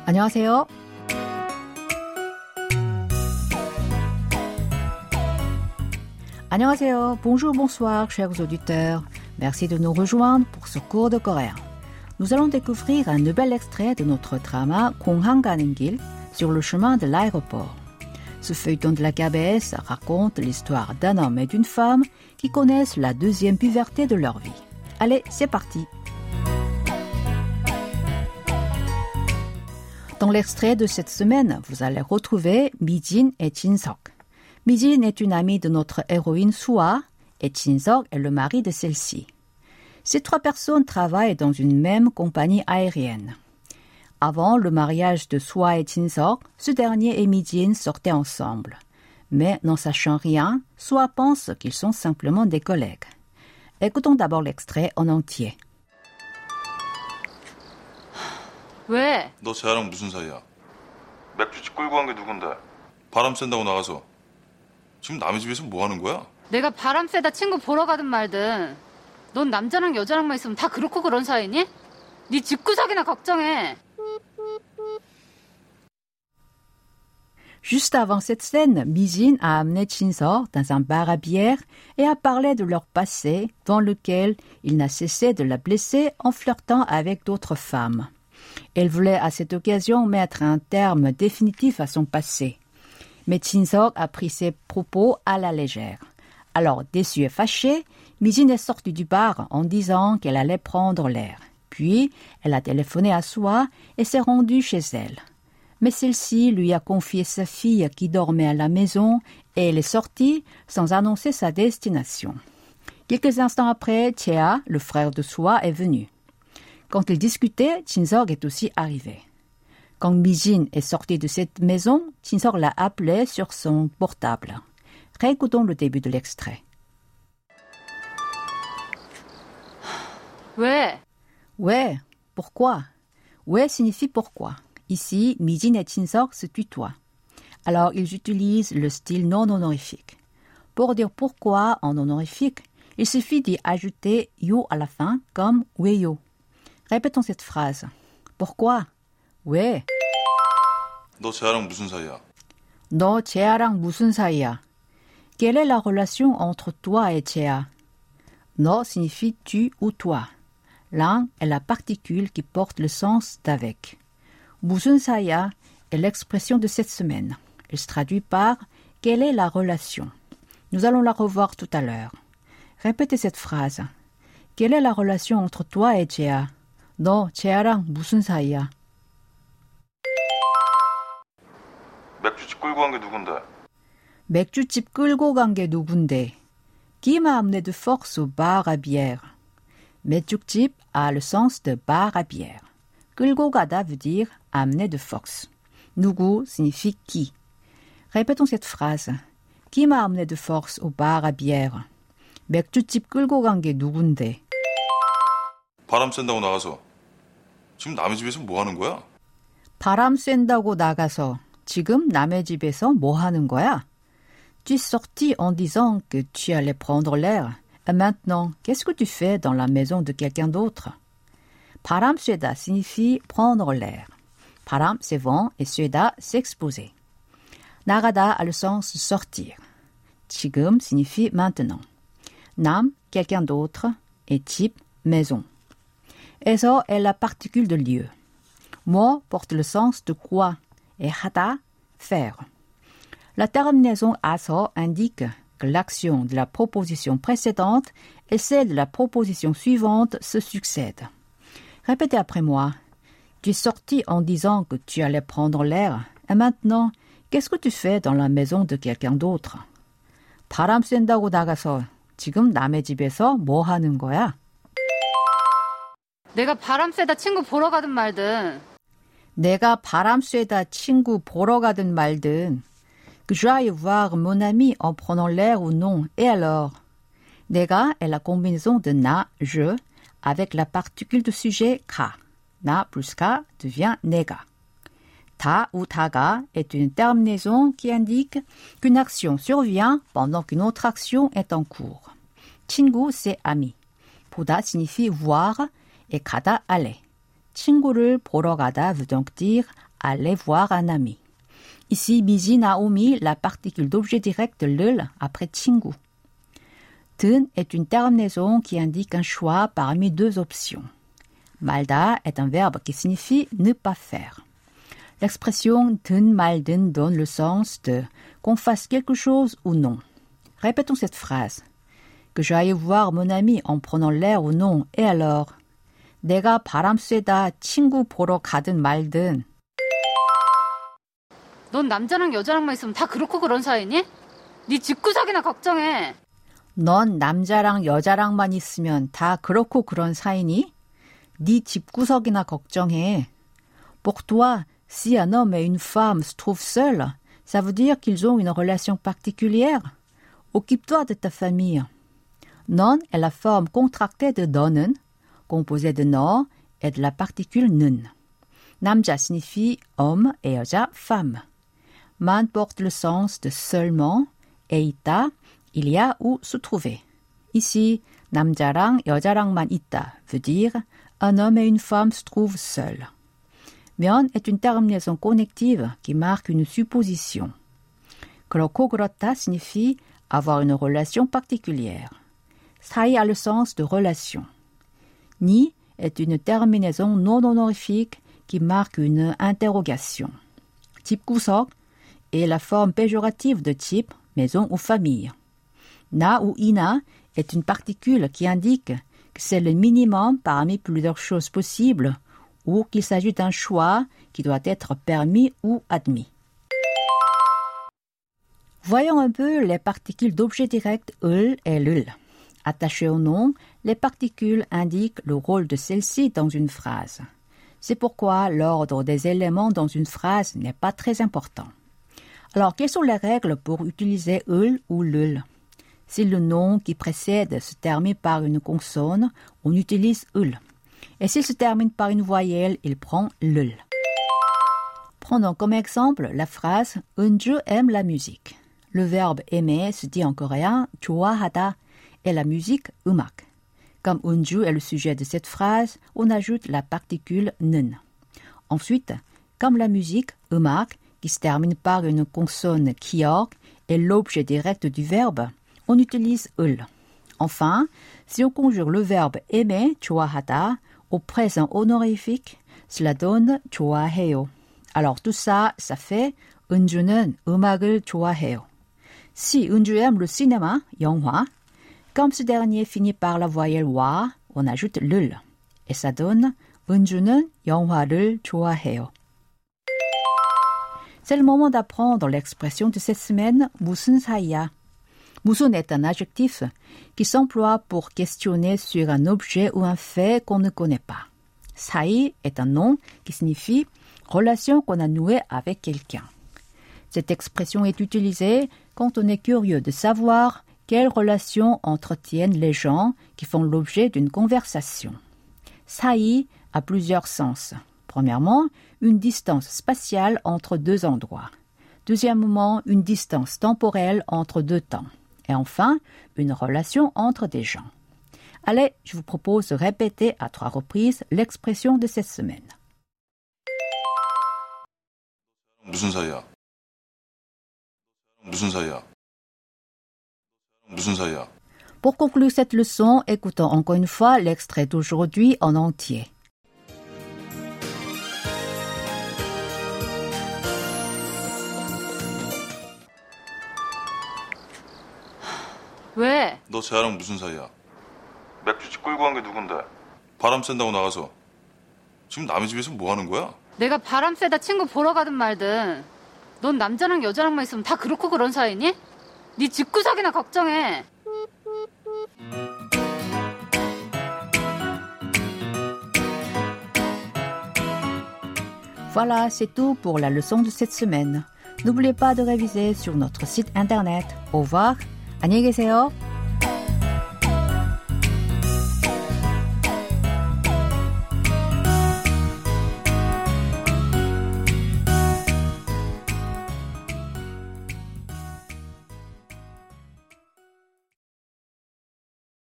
안녕하세요. 안녕하세요. Bonjour, bonsoir, chers auditeurs. Merci de nous rejoindre pour ce cours de coréen. Nous allons découvrir un nouvel extrait de notre drama 공항 가는 길 sur le chemin de l'aéroport. Ce feuilleton de la KBS raconte l'histoire d'un homme et d'une femme qui connaissent la deuxième puberté de leur vie. Allez, c'est parti. Dans l'extrait de cette semaine, vous allez retrouver Mi-jin et Jin-seok. Mi-jin est une amie de notre héroïne Suha et Jin-seok est le mari de celle-ci. Ces trois personnes travaillent dans une même compagnie aérienne. Avant le mariage de Suha et Jin-seok, ce dernier et Mi-jin sortaient ensemble. Mais n'en sachant rien, Suha pense qu'ils sont simplement des collègues. Écoutons d'abord l'extrait en entier. 왜? 너 쟤랑 무슨 사이야? 맥주집 끌고 간 게 누군데? 바람 쐰다고 나가서. 지금 남의 집에서 뭐 하는 거야? 내가 바람 쐬다 친구 보러 가든 말든 넌 남자랑 여자랑만 있으면 다 그렇고 그런 사이니? 네 집구석이나 걱정해. Juste avant cette scène, Mi-jin a amené Jin-seok dans un bar à bière et a parlé de leur passé dans lequel il n'a cessé de la blesser en flirtant avec d'autres femmes. Elle voulait à cette occasion mettre un terme définitif à son passé. Mais Jin-seok a pris ses propos à la légère. Alors, déçue et fâchée, Mi-jin est sortie du bar en disant qu'elle allait prendre l'air. Puis, elle a téléphoné à Suha et s'est rendue chez elle. Mais celle-ci lui a confié sa fille qui dormait à la maison et elle est sortie sans annoncer sa destination. Quelques instants après, Chea, le frère de Suha, est venu. Quand ils discutaient, Jin-seok est aussi arrivé. Quand Mi-jin est sortie de cette maison, Jin-seok l'a appelé sur son portable. Réécoutons le début de l'extrait. 왜? Ouais, pourquoi? Ouais signifie pourquoi. Ici, Mi-jin et Jin-seok se tutoient. Alors, ils utilisent le style non honorifique. Pour dire pourquoi en honorifique, il suffit d'y ajouter yo à la fin comme 왜요. Répétons cette phrase. Pourquoi? 왜? 너 쟤랑 무슨 사이야? 너 쟤랑 무슨 사이야? Quelle est la relation entre toi et Chea? 너 signifie tu ou toi. L'un est la particule qui porte le sens d'avec. 무슨 사이야 est l'expression de cette semaine. Elle se traduit par quelle est la relation? Nous allons la revoir tout à l'heure. Répétez cette phrase. Quelle est la relation entre toi et Chea? 너 쟤랑 무슨 사이야? 맥주집 끌고 간 게 누군데? 맥주집 끌고 간 게 누군데? Qui m'a amené de force au bar à bière? 맥주집 a le sens de bar à bière. 끌고 가다 veut dire amener de force. 누구 signifie qui. Répétons cette phrase. Qui m'a amené de force au bar à bière? 맥주집 끌고 간 게 누군데? 바람 쐰다고 나가서. 지금 남의 집에서 뭐 하는 거야? 바람 쐰다고 나가서 지금 남의 집에서 뭐 하는 거야? Tu es sorti en disant que tu allais prendre l'air. Et maintenant, qu'est-ce que tu fais dans la maison de quelqu'un d'autre? 바람 쐬다 signifie prendre l'air. 바람, c'est vent, et 쐬다, c'est exposer. 나가다 a le sens de sortir. 지금 signifie maintenant. 남, quelqu'un d'autre, et 집, maison. 에서 est la particule de lieu. 뭐 porte le sens de quoi, et 하다, faire. La terminaison a서 indique que l'action de la proposition précédente et celle de la proposition suivante se succèdent. Répétez après moi. Tu es sorti en disant que tu allais prendre l'air. Et maintenant, qu'est-ce que tu fais dans la maison de quelqu'un d'autre? 바람 쐰다고 나가서 지금 남의 집에서 뭐 하는 거야? 내가 바람 쐬다 친구 보러 가든 말든 내가 바람 쐬다 친구 보러 가든 말든 que j'aille voir mon ami en prenant l'air ou non. Et alors? 내가 est la combinaison de na, je, avec la particule de sujet 가. na plus 가 devient 내가. 다 ou 다가 est une terminaison qui indique qu'une action survient pendant qu'une autre action est en cours. 친구, c'est ami. 보다 signifie voir et 가다 aller. 친구를 보러 가다 veut donc dire aller voir un ami. Ici, Mi진 a omis la particule d'objet direct de 를 après 친구. 든 est une terminaison qui indique un choix parmi deux options. 말다 est un verbe qui signifie ne pas faire. L'expression 든 말든 donne le sens de qu'on fasse quelque chose ou non. Répétons cette phrase. Que j'aille voir mon ami en prenant l'air ou non, et alors? 내가 바람 쐬다 친구 보러 가든 말든. 넌 남자랑 여자랑만 있으면 다 그렇고 그런 사이니? 네 집구석이나 걱정해. 넌 남자랑 여자랑만 있으면 다 그렇고 그런 사이니? 네 집구석이나 걱정해. Pour toi, si un homme et une femme se trouvent seuls, ça veut dire qu'ils ont une relation particulière. Occupe-toi de ta famille. 넌 est la forme contractée de 너는, composée de 너 et de la particule 는. 남자 signifie homme et 여자 femme. Man porte le sens de seulement et 있다, il y a ou se trouver. Ici, 남자랑 여자랑만 있다 veut dire un homme et une femme se trouvent seuls. 면 est une terminaison connective qui marque une supposition. 그렇고 그렇다 signifie avoir une relation particulière. 사이 a le sens de relation. 니 est une terminaison non honorifique qui marque une interrogation. 집구석 est la forme péjorative de type maison ou famille. 나 ou ina est une particule qui indique que c'est le minimum parmi plusieurs choses possibles ou qu'il s'agit d'un choix qui doit être permis ou admis. Voyons un peu les particules d'objet direct 을 et 를. Attachées au nom, les particules indiquent le rôle de celle-ci dans une phrase. C'est pourquoi l'ordre des éléments dans une phrase n'est pas très important. Alors, quelles sont les règles pour utiliser 을 ou 를? Si le nom qui précède se termine par une consonne, on utilise 을. Et s'il se termine par une voyelle, il prend 를. Prenons comme exemple la phrase « 은주 aime la musique ». Le verbe « aimer » se dit en coréen « 좋아하다 » et la musique « 음악 ». Comme 은주 est le sujet de cette phrase, on ajoute la particule « 는 ». Ensuite, comme la musique « 음악 » qui se termine par une consonne « 기억 » est l'objet direct du verbe, on utilise « 을 ». Enfin, si on conjugue le verbe « aimer » 좋아하다 au présent honorifique, cela donne « 좋아해요 ». Alors tout ça, ça fait « 은주는 음악을 좋아해요 ». Si 은주 aime le cinéma, 영화, comme ce dernier finit par la voyelle 와, on ajoute 를. Et ça donne 은주는 영화를 좋아해요. C'est le moment d'apprendre l'expression de cette semaine 무슨 사이야. 무슨 est un adjectif qui s'emploie pour questionner sur un objet ou un fait qu'on ne connaît pas. 사이 est un nom qui signifie relation qu'on a nouée avec quelqu'un. Cette expression est utilisée quand on est curieux de savoir quelles relations entretiennent les gens qui font l'objet d'une conversation. 사이 a plusieurs sens. Premièrement, une distance spatiale entre deux endroits. Deuxièmement, une distance temporelle entre deux temps. Et enfin, une relation entre des gens. Allez, je vous propose de répéter à 3 reprises l'expression de cette semaine. 무슨 사이야? 무슨 사이야? 무슨 사이야? Pour conclure cette leçon, écoutons encore une fois l'extrait d'aujourd'hui en entier. 왜? 너 쟤랑 무슨 사이야? 맥주집 끌고 간 게 누군데? 바람 쐰다고 나가서 지금 남의 집에서 뭐 하는 거야? 내가 바람 쐬다 친구 보러 가든 말든 넌 남자랑 여자랑만 있으면 다 그렇고 그런 사이니? 네 집구석이나 걱정해. Voilà, c'est tout pour la leçon de cette semaine. N'oubliez pas de réviser sur notre site internet. Au revoir, 안녕히 계세요.